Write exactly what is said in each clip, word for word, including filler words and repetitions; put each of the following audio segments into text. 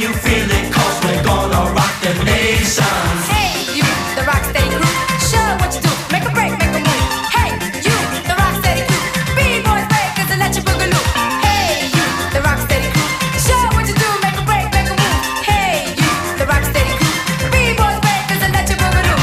you feel it, cause we're gonna rock the nation. Hey, you, the Rocksteady crew, show what you do, make a break, make a move. Hey, you, the Rocksteady crew, B-boys breakers and let you boogaloo. Hey, you, the Rocksteady crew, show what you do, make a break, make a move. Hey, you, the Rocksteady crew, B-boys breakers and let you boogaloo.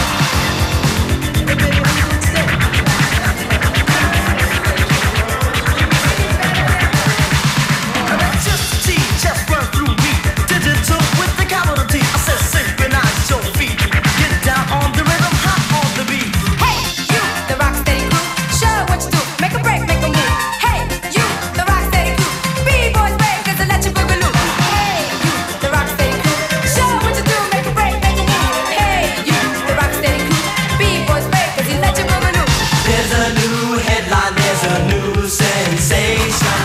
Electricity just run through me, digital with the capital T. I said synchronize your feet, get down on the rhythm, hot on the beat. Hey, you, the Rocksteady crew, show what you do, make a break, make a move. Hey, you, the Rocksteady crew, B-boys breakers and let you boogaloo. Hey, you, the Rocksteady crew, show what you do, make a break, make a move. Hey, you, the Rocksteady crew, B-boys breakers and let you boogaloo. There's a new headline, there's a new sensation.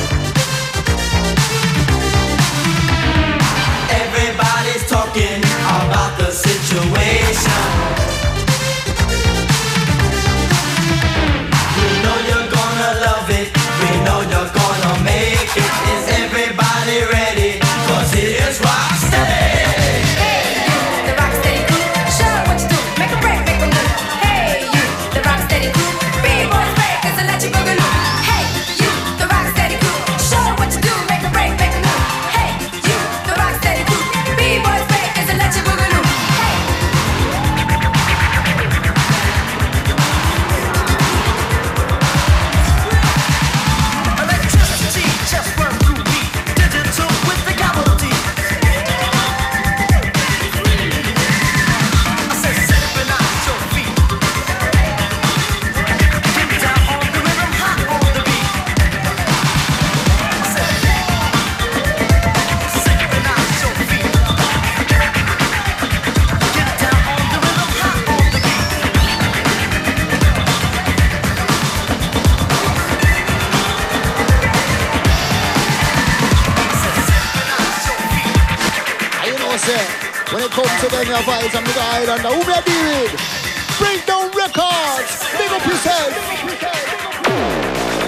Everybody's talking about the situation. We know you're gonna love it, we know you're gonna make it. Is everybody ready? Cause it is Rocksteady. Hey, you, the Rocksteady crew, show what you do, make a break, make a move. Hey, you, the Rocksteady crew, B-boys breakers and let you boogaloo. Hey, you, the Rocksteady crew, show what you do, make a break, make a move. Hey, you, the Rocksteady crew, B-boys breakers and let you boogaloo. Hey. Electricity just run through me, digital with the capital T. I said synchronize your feet, get down on the rhythm, hot on the beat. I said synchronize your feet, get down on the rhythm, hot on the beat. And you know, say, when it comes to them, your vibes and the island, who we are dealing with? Breakdown Records, big up yourself.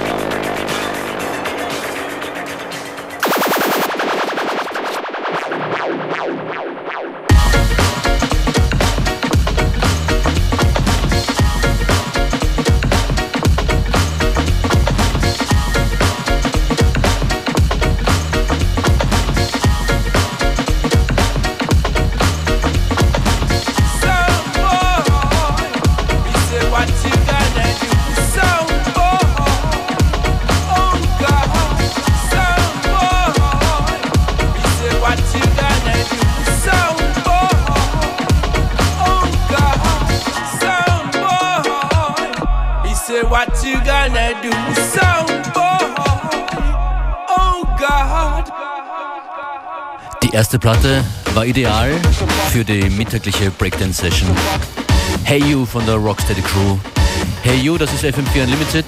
What you gonna do, sound boy? Oh God. Die erste Platte war ideal für die mittägliche Breakdance-Session. Hey You von der Rocksteady Crew. Hey You, das ist F M vier Unlimited.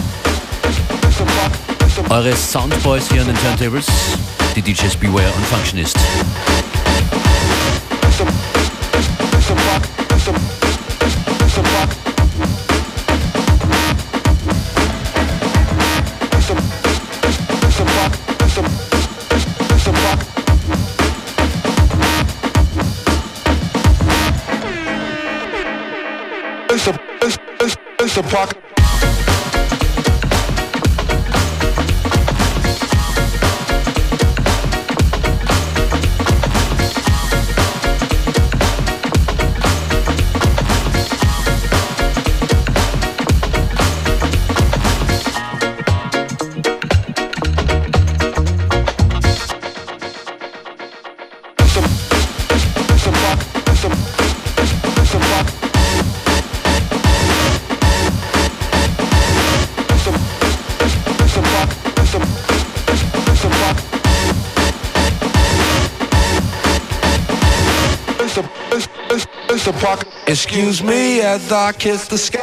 Eure Soundboys hier an den Turntables, die D Js Beware und Functionist. It's a, it's, it's, it's a pocket. Excuse me as I kiss the sky.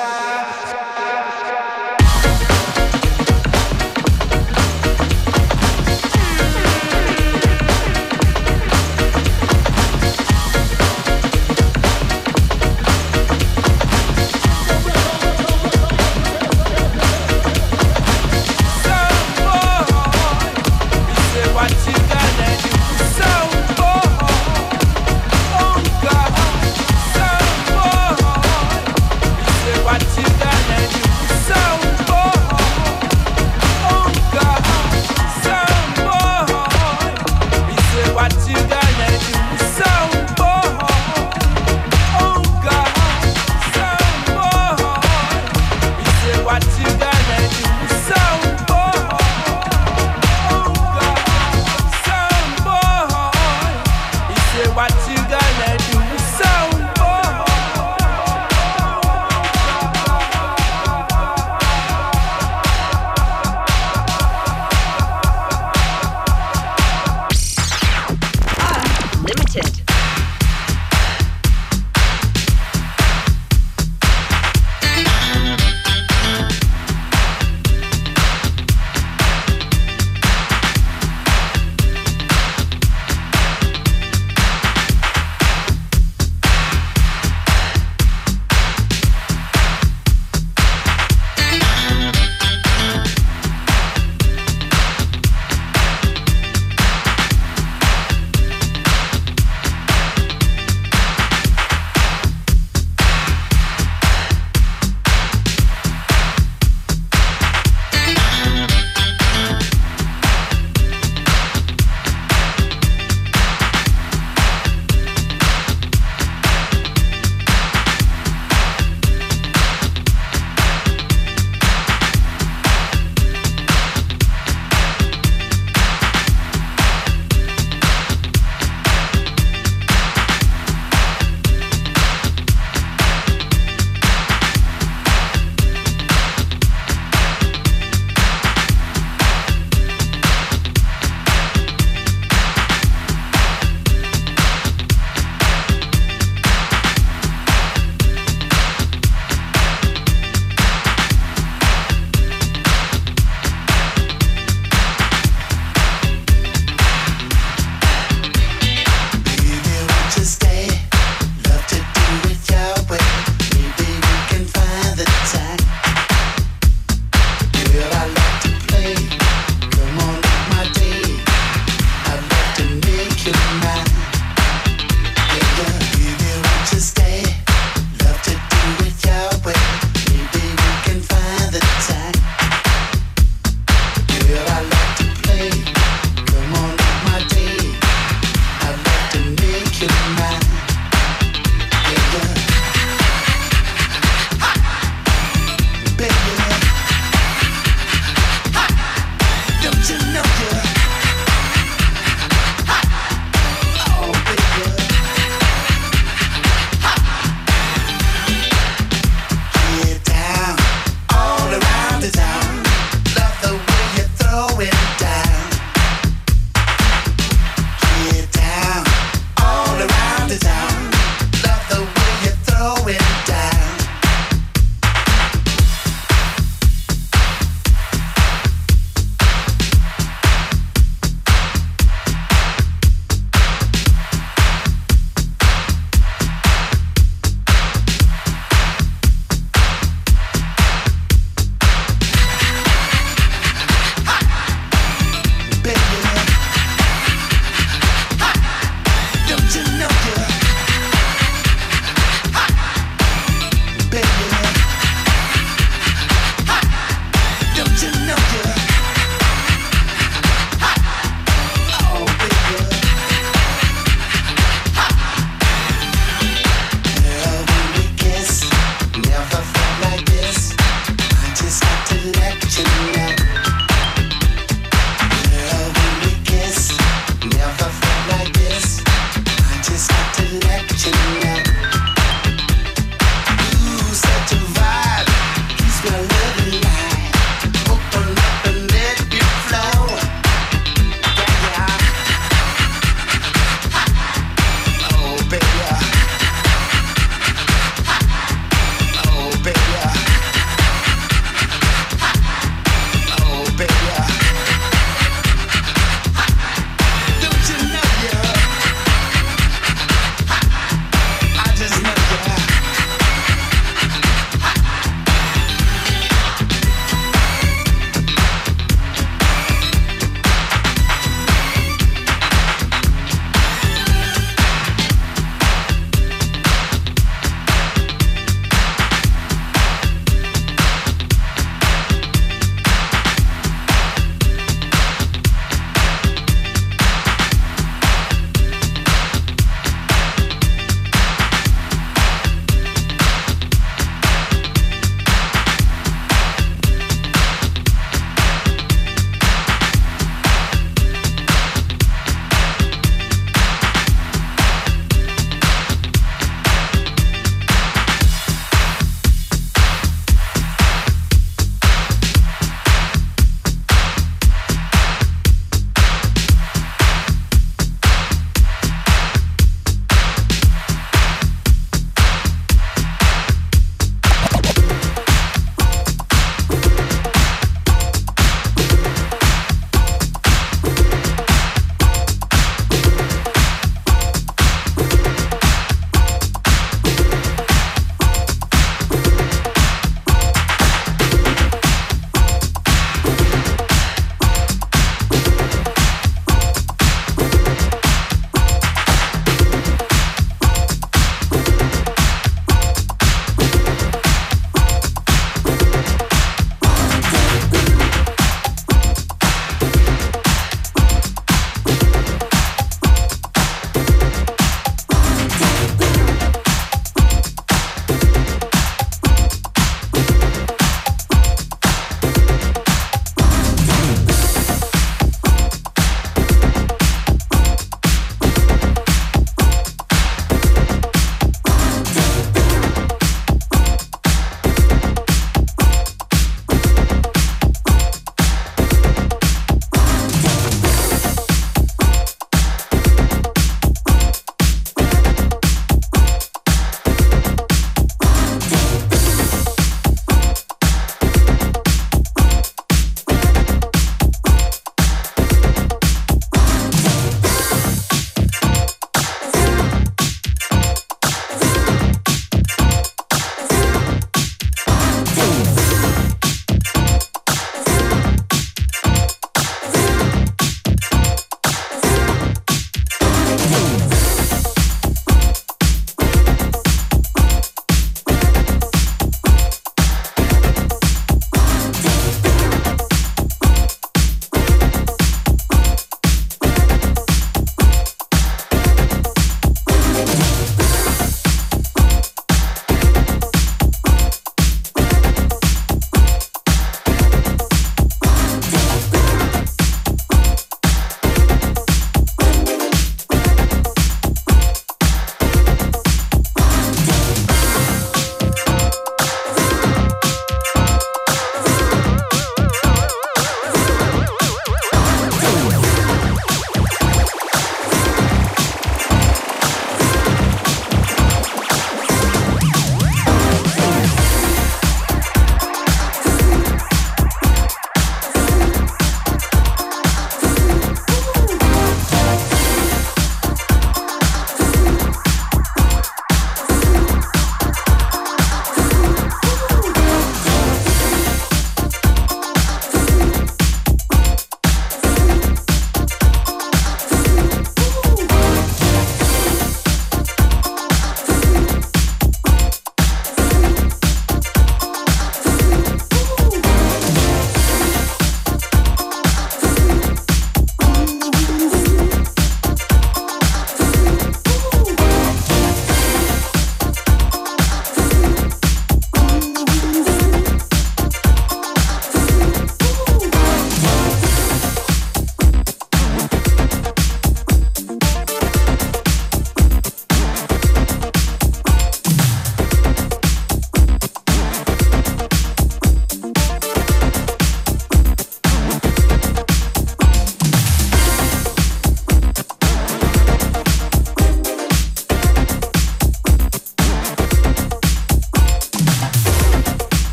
What you gonna do? So boy.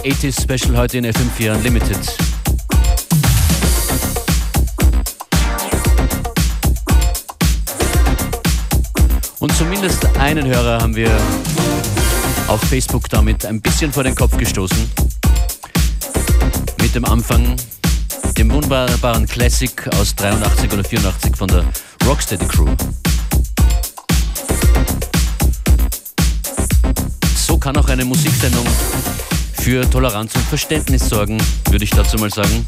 achtziger Special heute in F M vier Unlimited. Und zumindest einen Hörer haben wir auf Facebook damit ein bisschen vor den Kopf gestoßen. Mit dem Anfang, dem wunderbaren Classic aus dreiundachtzig oder vierundachtzig von der Rocksteady Crew. So kann auch eine Musiksendung für Toleranz und Verständnis sorgen, würde ich dazu mal sagen.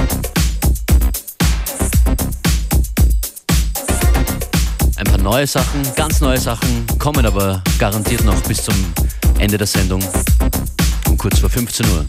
Ein paar neue Sachen, ganz neue Sachen, kommen aber garantiert noch bis zum Ende der Sendung um kurz vor fünfzehn Uhr.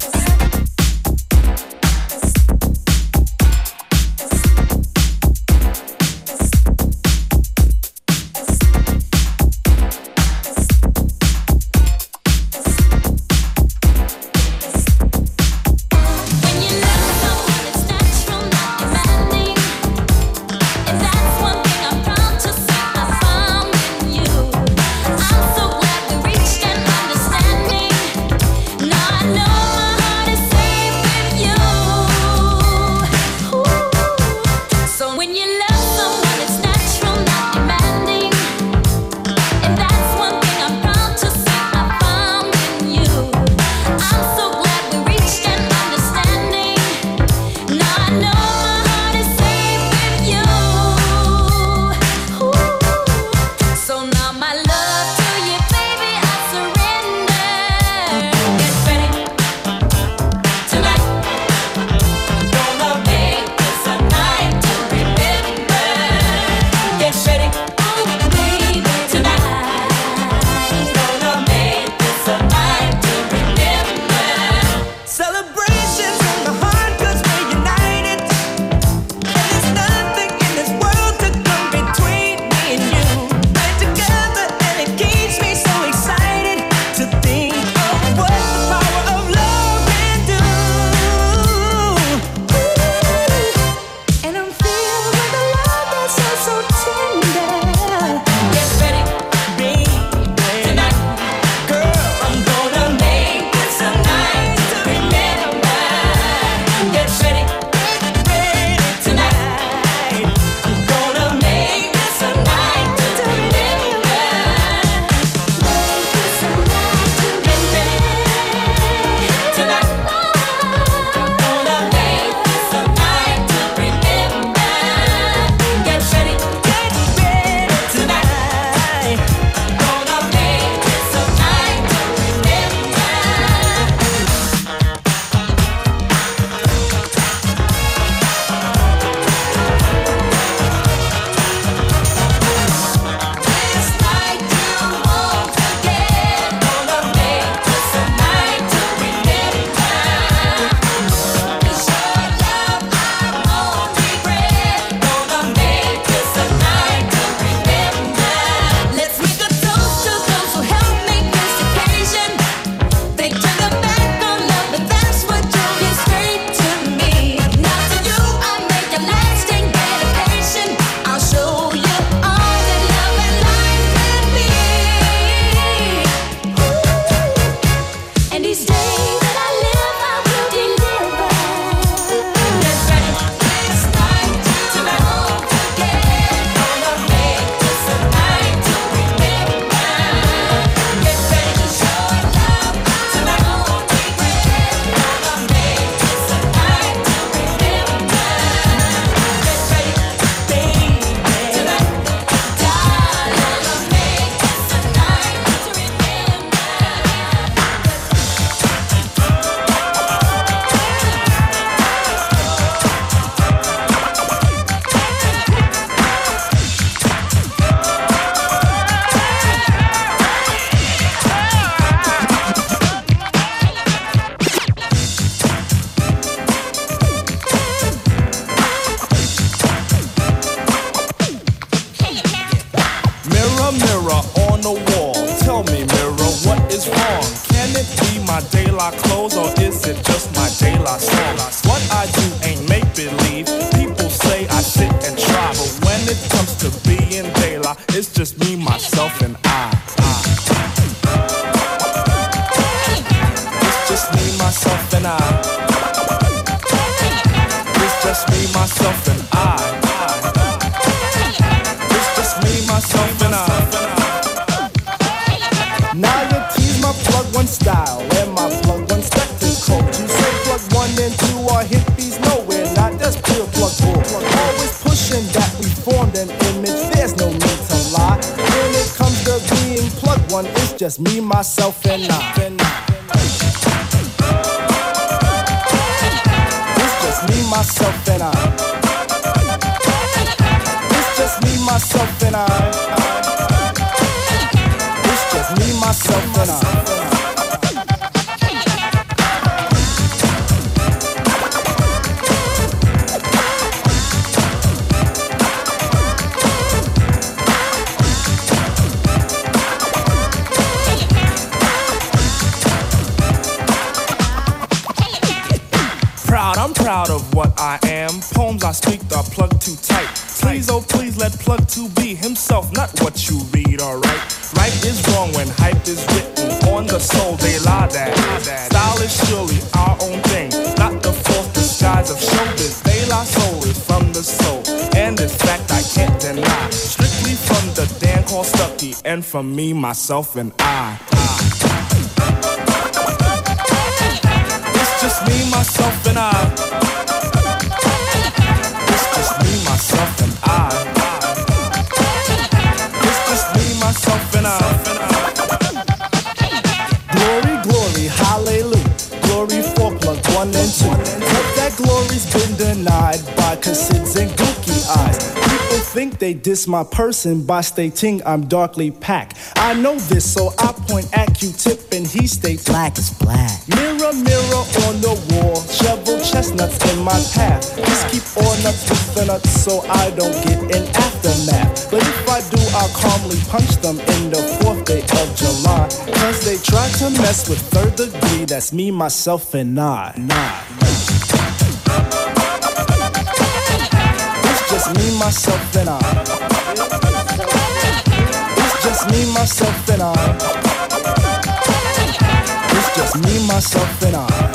my clothes or is it just my De La Soul? What I do ain't make-believe. People say I sit and try, but when it comes to being De La, it's just me, myself, and I. I. It's just me, myself, just me, myself, and I. It's just me, myself, and I. It's just me, myself, and I. It's just me, myself, and I. I'm proud of what I am. Poems I speak are plugged too tight. Please, oh please, let plug to be himself, not what you read, alright? Right is wrong when hype is written on the soul, they lie that. Style is surely our own thing, not the false disguise of showbiz. They lie soul is from the soul, and this fact I can't deny. Strictly from the Dan called Stucky, and from me, myself, and I. It's just me, myself, and I. It's just me, myself, and I. It's just me, myself, and I. Glory, glory, hallelujah. Glory for plug one and two. But that glory's been denied by Cassids and Gookie eyes. People think they diss my person by stating I'm darkly packed. I know this, so I point at Q-tip and he states black is black. Mirror, mirror on the wall, shovel chestnuts in my path. Just keep all nuts with the nuts so I don't get an aftermath. But if I do, I'll calmly punch them in the fourth day of July. Cause they try to mess with third degree, that's me, myself, and I. Nah. It's just me, myself, and I. It's just me, myself, and I. It's just me, myself, and I.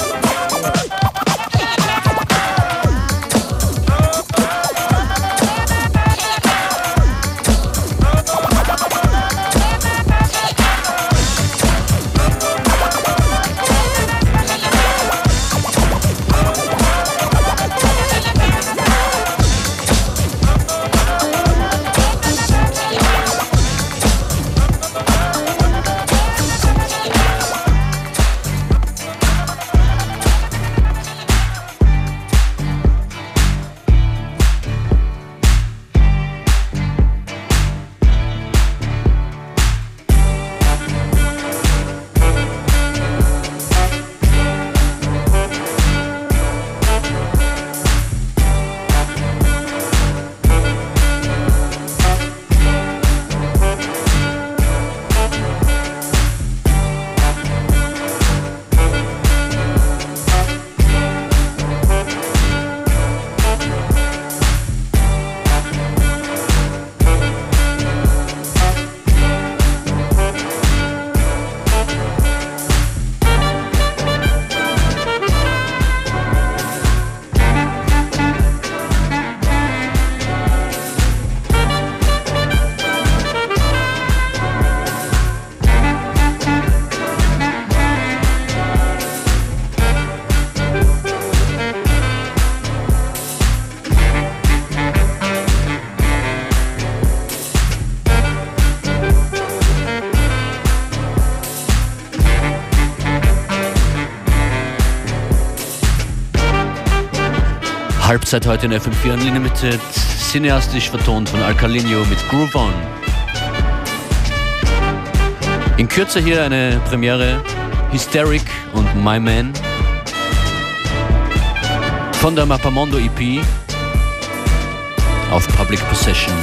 Halbzeit heute in F M vier Unlimited, cineastisch vertont von Alkalinho mit Groove On. In Kürze hier eine Premiere, Hysteric und My Man von der Mappamondo E P auf Public Possession.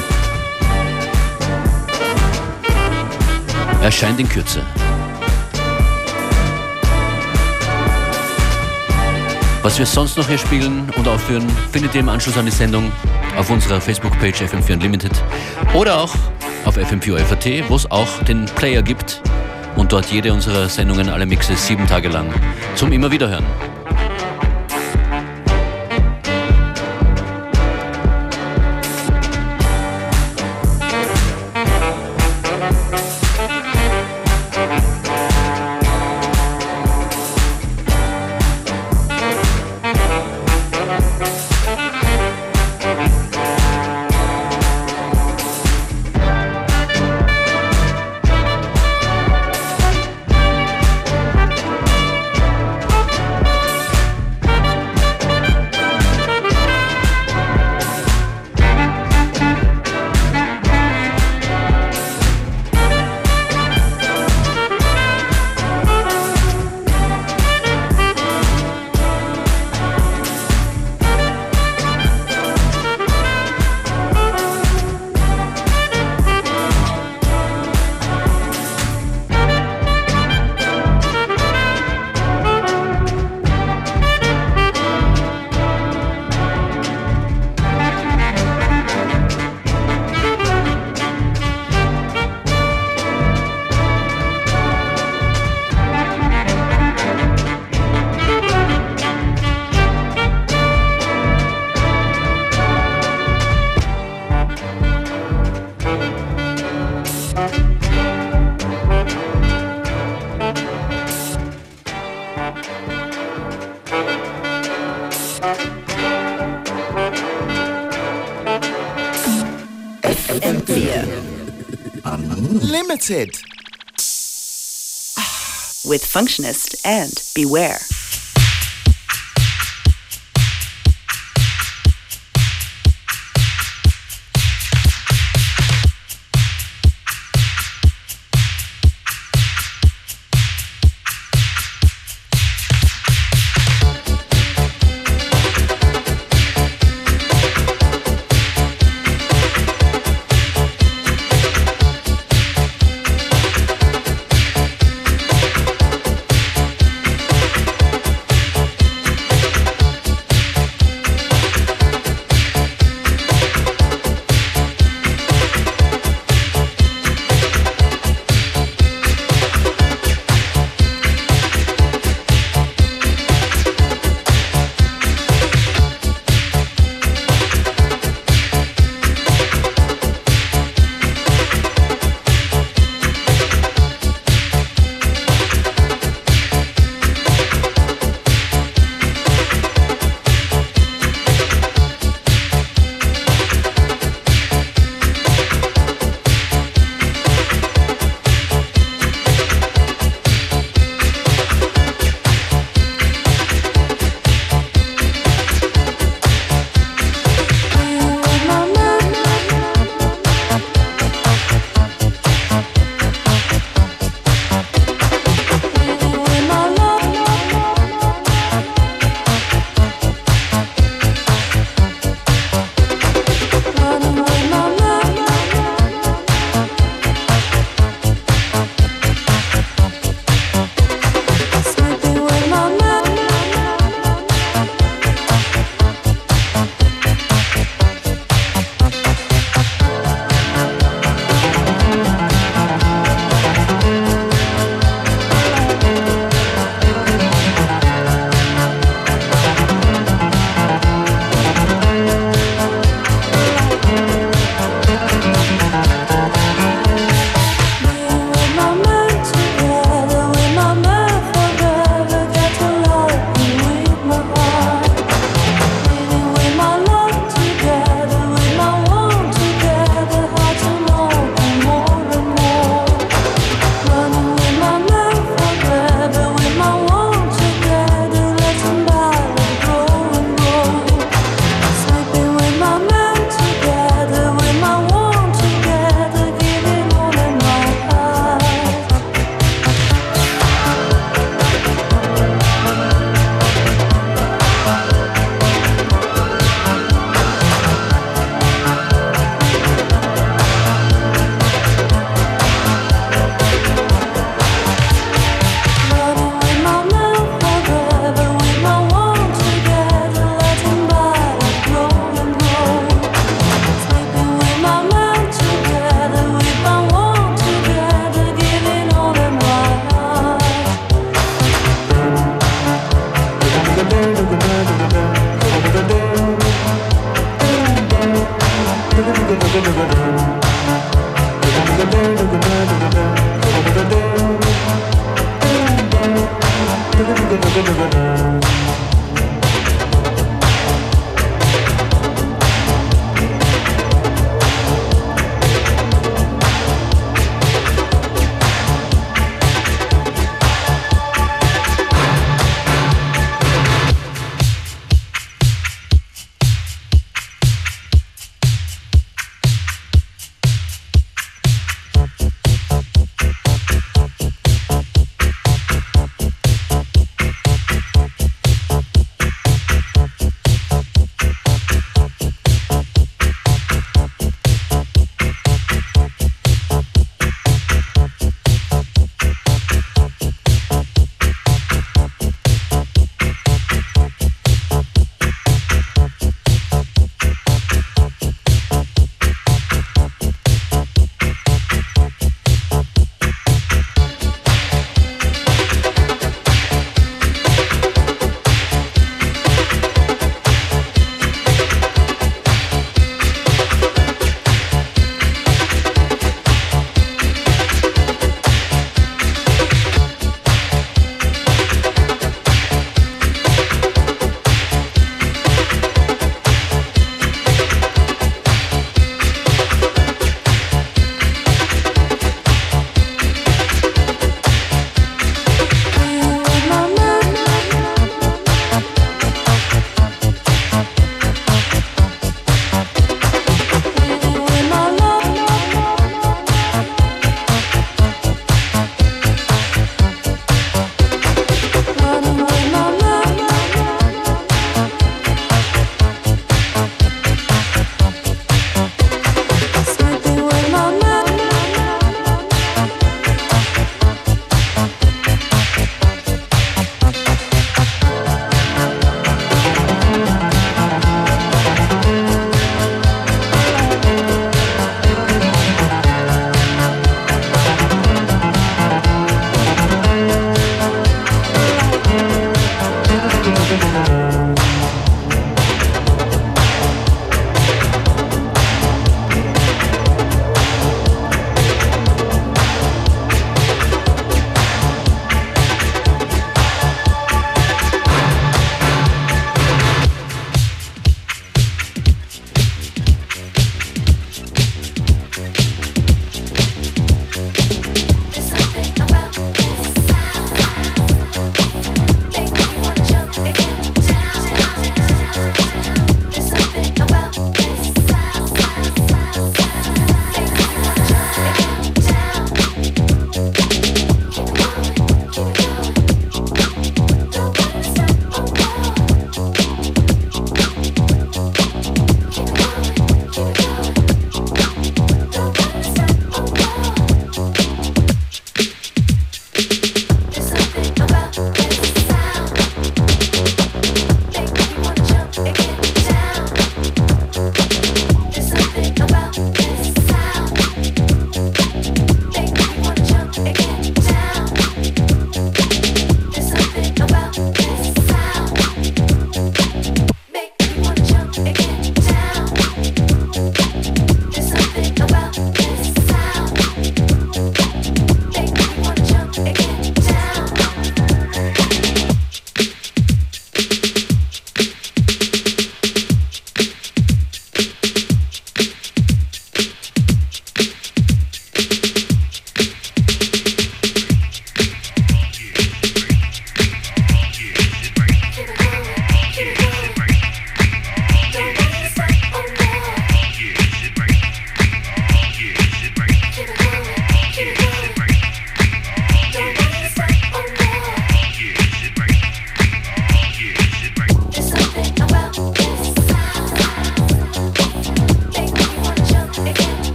Erscheint in Kürze. Was wir sonst noch hier spielen und aufführen, findet ihr im Anschluss an die Sendung auf unserer Facebook-Page F M vier Unlimited oder auch auf F M vier F A T, wo es auch den Player gibt und dort jede unserer Sendungen, alle Mixe, sieben Tage lang zum immer wieder hören. Limited. With Functionist and Beware.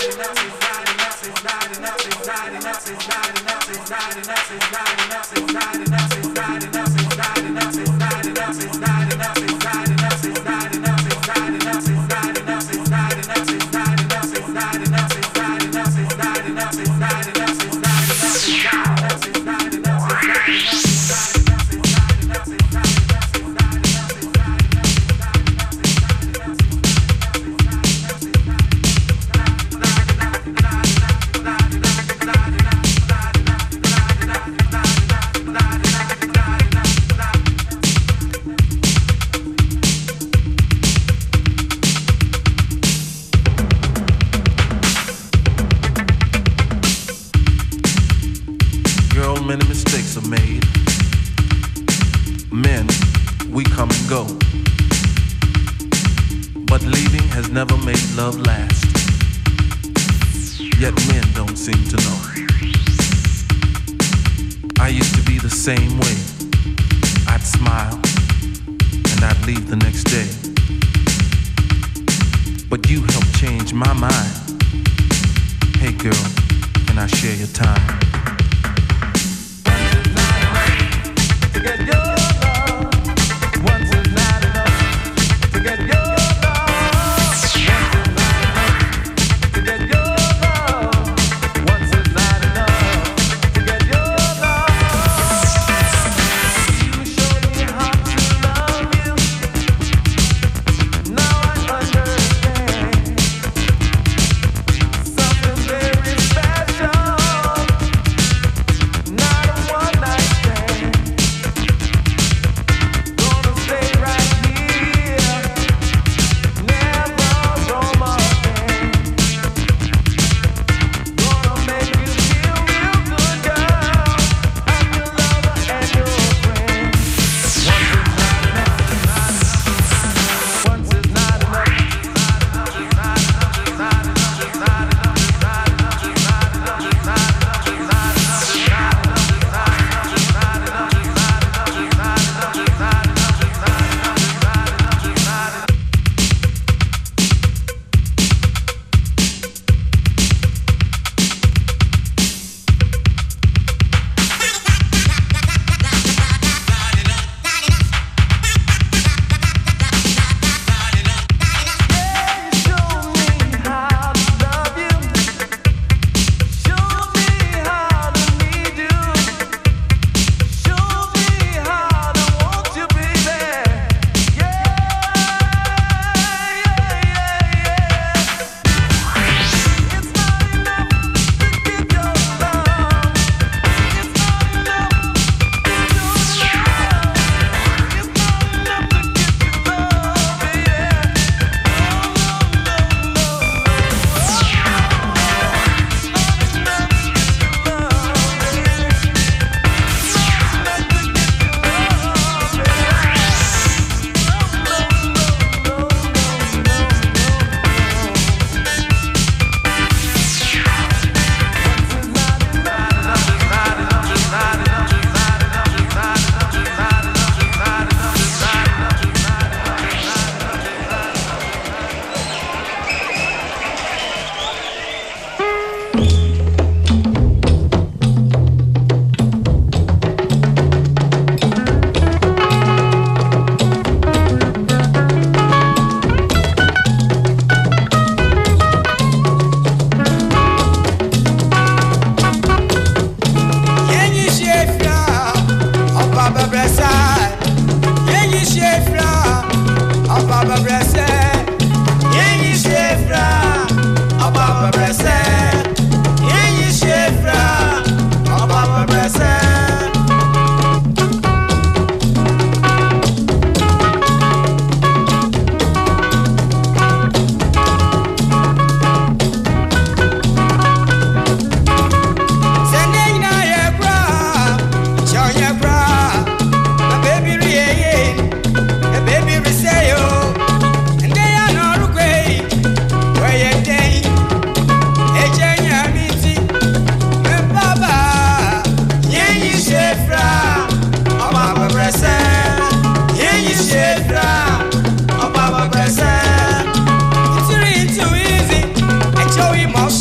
It's really too easy. I show you my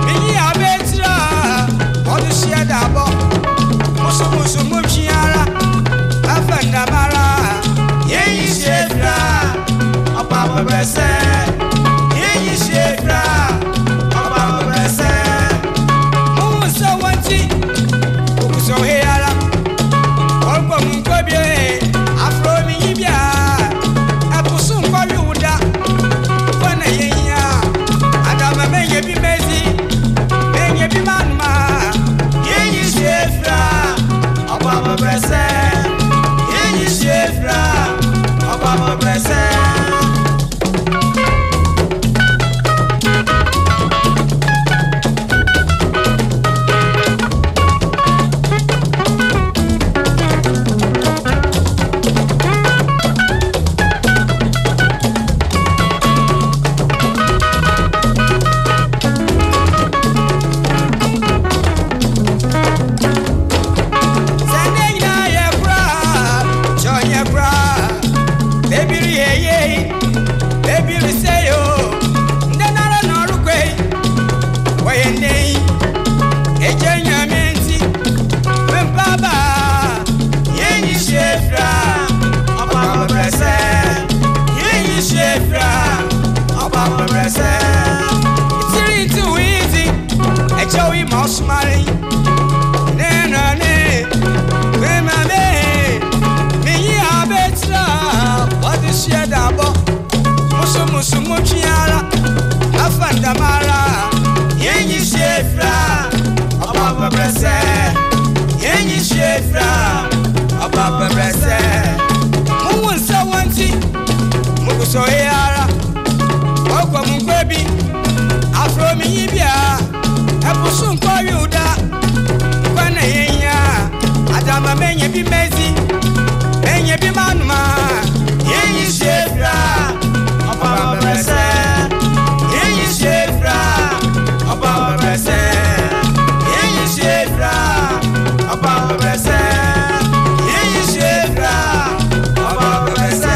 Minyi abetra, odu sheda bo. Musu musu mumchiara, afanda mara. Yeyi shefra, opapa brese. Yeyi shefra, opapa brese. Musa wanti, ukuso heara. Orko munkobie, afro miyibia. Apusu nkori uda, fana yenya. Adama menye bi mezi, menye bi manma. Yeyi shefra, opapa brese. Yeyi shefra, opapa brese. So yara, okwa mungwebi, afro miyibia, epusu nkori uda, kwana yenya, adama menye bi mezi, menye bi manuma, yenyi shefra, opapa brese, yenyi shefra, opapa brese, yenyi shefra, opapa brese, yenyi shefra, opapa brese.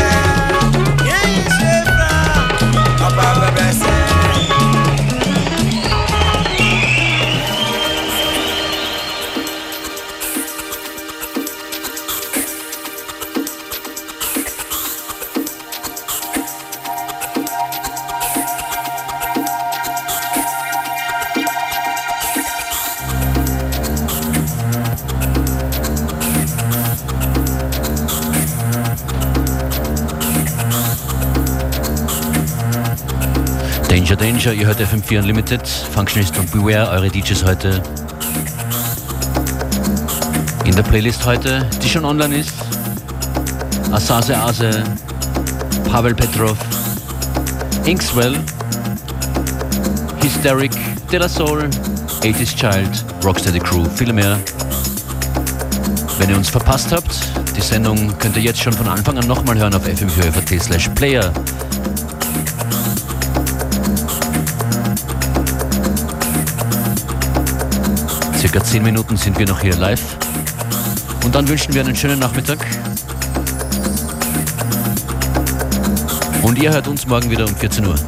Danger, Danger, ihr hört F M vier Unlimited, Functionist und Beware, eure D Js heute. In der Playlist heute, die schon online ist, Asase Ase, Pavel Petrov, Inkswell, Hysteric, De La Soul, eighties Child, Rocksteady Crew, viele mehr. Wenn ihr uns verpasst habt, die Sendung könnt ihr jetzt schon von Anfang an nochmal hören auf f m vier punkt f a t slash player. Circa zehn Minuten sind wir noch hier live. Und dann wünschen wir einen schönen Nachmittag. Und ihr hört uns morgen wieder um vierzehn Uhr.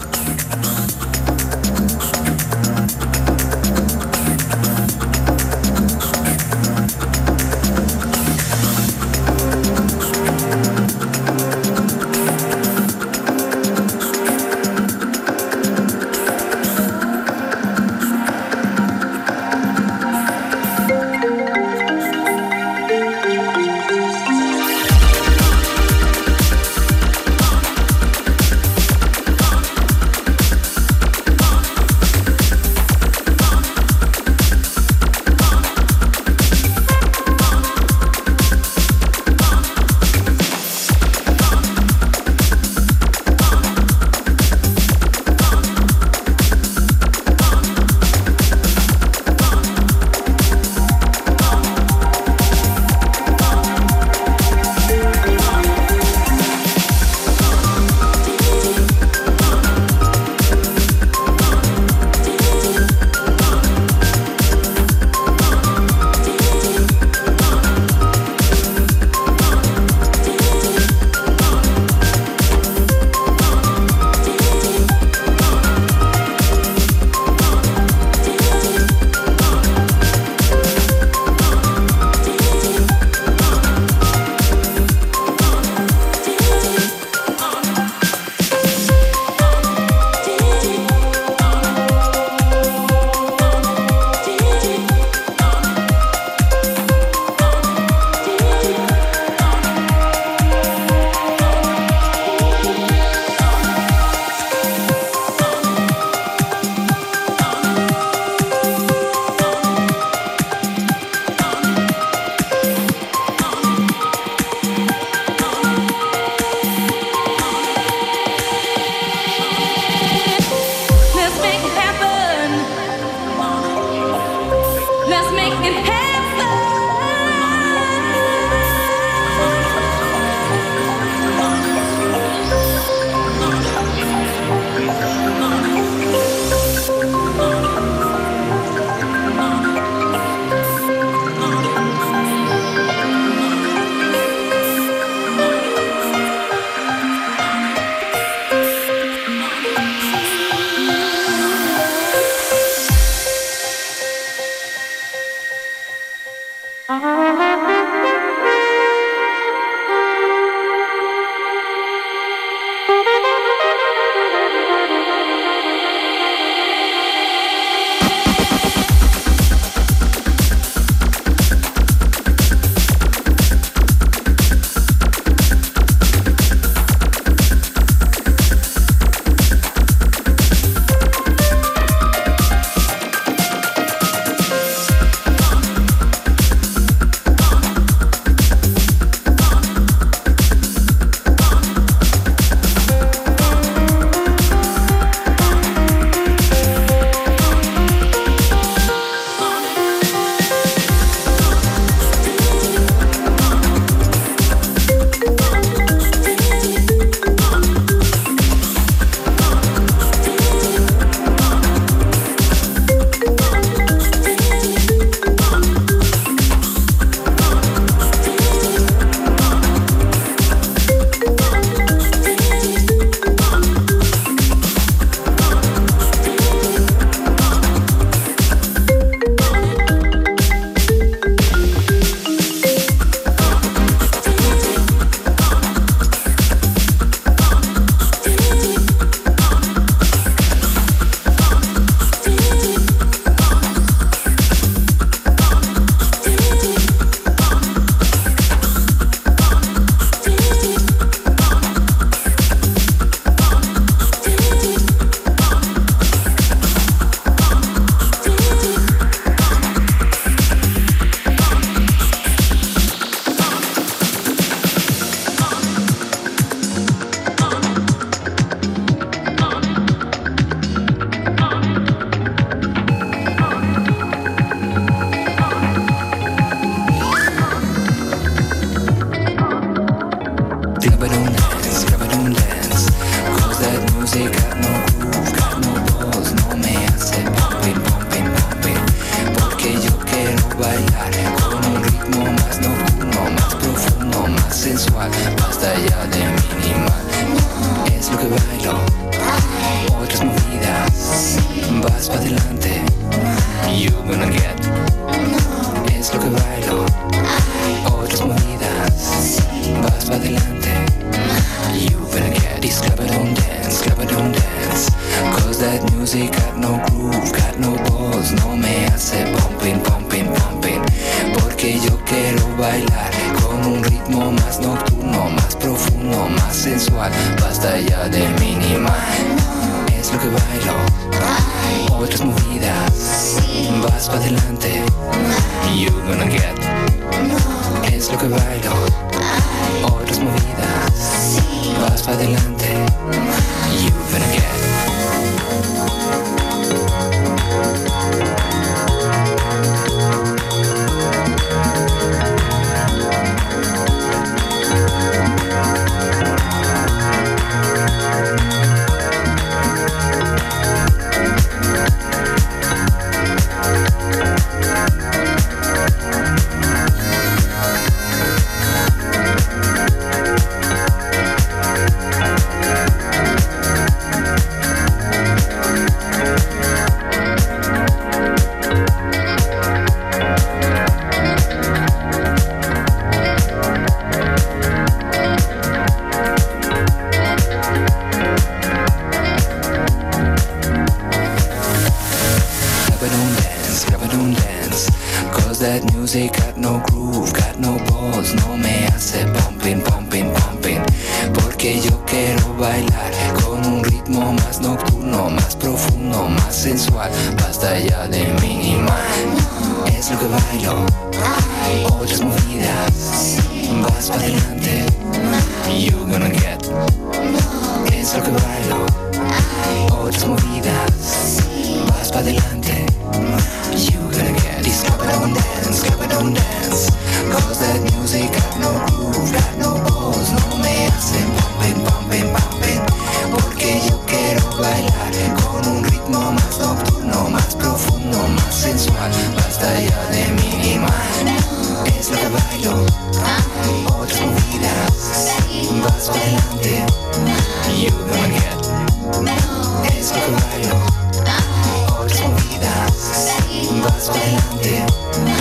Otras movidas, vas para adelante.